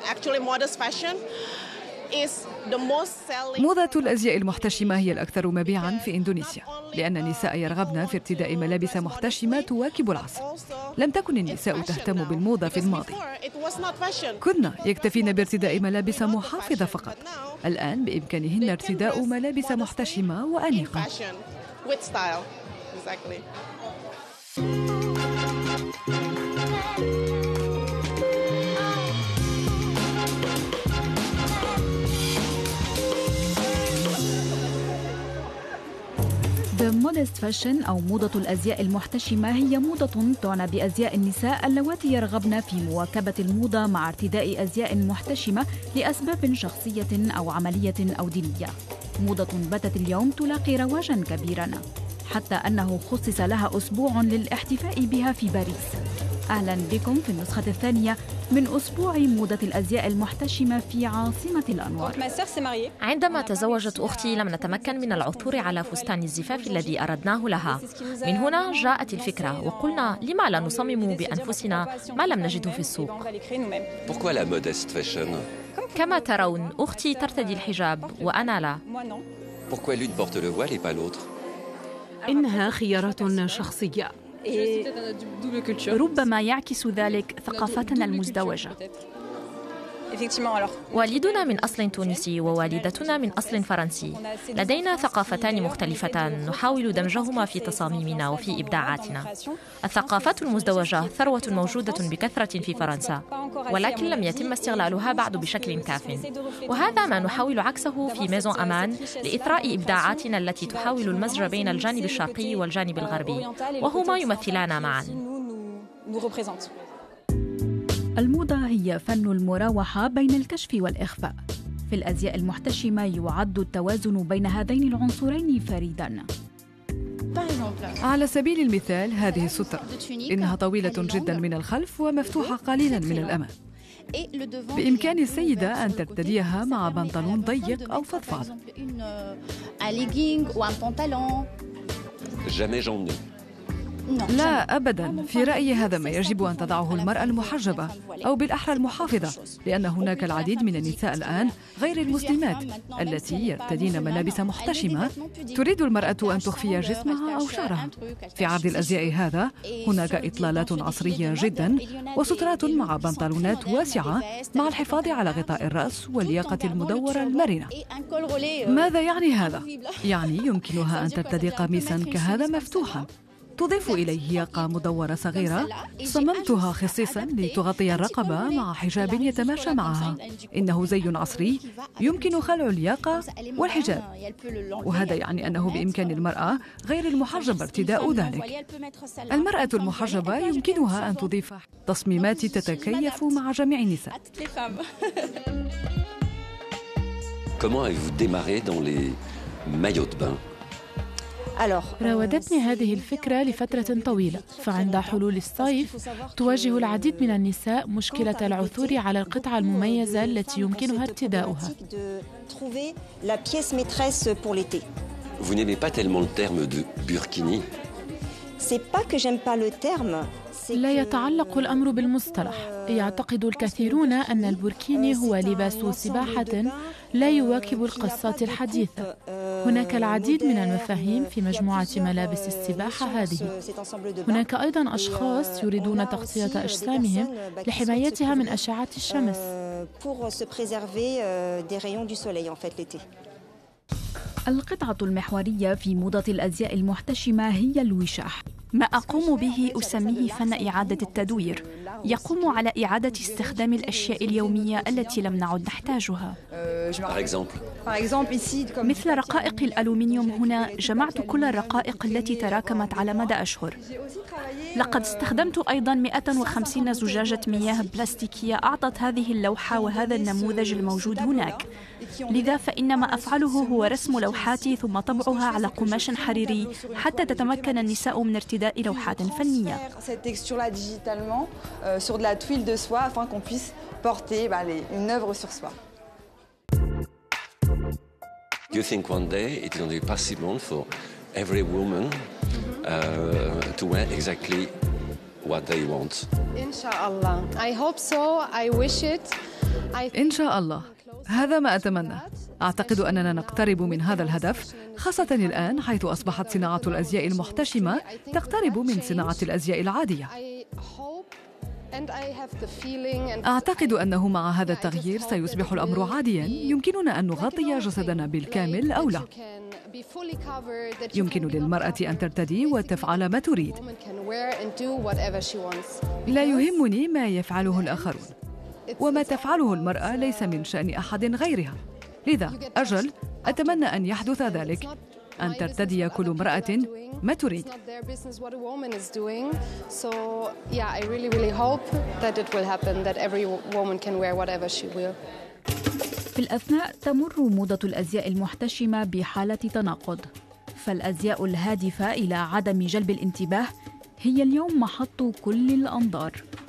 موضة الأزياء المحتشمة هي الأكثر مبيعاً في إندونيسيا، لأن النساء يرغبن في ارتداء ملابس محتشمة تواكب العصر. لم تكن النساء تهتم بالموضة في الماضي، كن يكتفين بارتداء ملابس محافظة فقط. الآن بإمكانهن ارتداء ملابس محتشمة وأنيقة. The modest fashion أو موضة الأزياء المحتشمة هي موضة تعنى بأزياء النساء اللواتي يرغبن في مواكبة الموضة مع ارتداء أزياء محتشمة لأسباب شخصية أو عملية أو دينية. موضة باتت اليوم تلاقي رواجاً كبيراً، حتى أنه خصص لها أسبوع للاحتفاء بها في باريس. أهلاً بكم في النسخة الثانية من أسبوع موضة الأزياء المحتشمة في عاصمة الأنوار. عندما تزوجت أختي لم نتمكن من العثور على فستان الزفاف الذي أردناه لها. من هنا جاءت الفكرة، وقلنا لما لا نصمم بأنفسنا ما لم نجده في السوق. كما ترون أختي ترتدي الحجاب وأنا لا. إنها خيارات شخصية، ربما يعكس ذلك ثقافتنا المزدوجة. والدنا من أصل تونسي ووالدتنا من أصل فرنسي. لدينا ثقافتان مختلفتان نحاول دمجهما في تصاميمنا وفي إبداعاتنا. الثقافات المزدوجة ثروة موجودة بكثرة في فرنسا، ولكن لم يتم استغلالها بعد بشكل كاف، وهذا ما نحاول عكسه في ميزون أمان لإثراء إبداعاتنا التي تحاول المزج بين الجانب الشرقي والجانب الغربي، وهما يمثلان معا. الموضة هي فن المراوحة بين الكشف والإخفاء. في الأزياء المحتشمة يعد التوازن بين هذين العنصرين فريداً. على سبيل المثال هذه السترة، إنها طويلة جداً من الخلف ومفتوحة قليلاً من الأمام. بإمكان السيدة أن ترتديها مع بنطلون ضيق أو فضفاض. لا أبداً، في رأيي هذا ما يجب أن تضعه المرأة المحجبة أو بالأحرى المحافظة، لأن هناك العديد من النساء الآن غير المسلمات التي يرتدين ملابس محتشمة تريد المرأة أن تخفي جسمها أو شعرها. في عرض الأزياء هذا هناك إطلالات عصرية جداً وسترات مع بنطلونات واسعة مع الحفاظ على غطاء الرأس واللياقة المدورة المرنة. ماذا يعني هذا؟ يعني يمكنها أن ترتدي قميصاً كهذا مفتوحاً تضيف إليه ياقة مدورة صغيرة صممتها خصيصاً لتغطي الرقبة مع حجاب يتماشى معها. إنه زي عصري يمكن خلع الياقة والحجاب، وهذا يعني أنه بإمكان المرأة غير المحجبة ارتداء ذلك. المرأة المحجبة يمكنها أن تضيف تصميمات تتكيف مع جميع النساء. Comment avez-vous démarré dans les maillots de bain؟ راودتني هذه الفكرة لفترة طويلة، فعند حلول الصيف تواجه العديد من النساء مشكلة العثور على القطعة المميزة التي يمكنها ارتداؤها. Vous n'aimez pas tellement le terme de burkini? C'est pas que j'aime pas le terme. لا يتعلق الأمر بالمصطلح. يعتقد الكثيرون أن البوركيني هو لباس سباحة لا يواكب القصات الحديثة. هناك العديد من المفاهيم في مجموعة ملابس السباحة هذه. هناك أيضاً أشخاص يريدون تغطية أجسامهم لحمايتها من أشعة الشمس. القطعة المحورية في موضة الأزياء المحتشمة هي الوشاح. ما أقوم به أسميه فن إعادة التدوير، يقوم على إعادة استخدام الأشياء اليومية التي لم نعد نحتاجها. مثل رقائق الألومنيوم، هنا جمعت كل الرقائق التي تراكمت على مدى أشهر. لقد استخدمت أيضاً 150 زجاجة مياه بلاستيكية أعطت هذه اللوحة وهذا النموذج الموجود هناك. لذا فإن ما أفعله هو رسم لوحاتي ثم طبعها على قماش حريري حتى تتمكن النساء من ارتداء لوحات فنية. Do you think one day it will be possible for every woman to wear exactly what they want? Inshallah. I hope so. I wish it. إن شاء الله، هذا ما أتمنى. أعتقد أننا نقترب من هذا الهدف، خاصة الآن حيث أصبحت صناعة الأزياء المحتشمة تقترب من صناعة الأزياء العادية. أعتقد أنه مع هذا التغيير سيصبح الأمر عادياً، يمكننا أن نغطي جسدنا بالكامل أو لا. يمكن للمرأة أن ترتدي وتفعل ما تريد. لا يهمني ما يفعله الآخرون، وما تفعله المرأة ليس من شأن أحد غيرها. لذا أجل أتمنى أن يحدث ذلك، أن ترتدي كل امرأة ما تريد. في الأثناء تمر موضة الأزياء المحتشمة بحالة تناقض، فالأزياء الهادفة إلى عدم جلب الانتباه هي اليوم محط كل الأنظار.